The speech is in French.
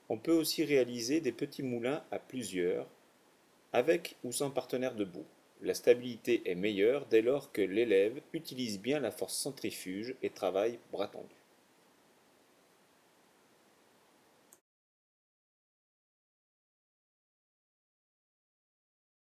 On peut aussi réaliser des petits moulins à plusieurs, avec ou sans partenaire debout. La stabilité est meilleure dès lors que l'élève utilise bien la force centrifuge et travaille bras tendus.